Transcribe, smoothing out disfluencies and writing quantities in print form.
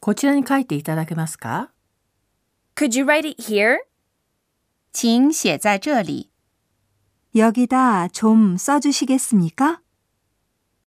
こちらに書いていただけますか？ Could you write it here? 请写在这里。 여기다 좀 써주시겠습니까?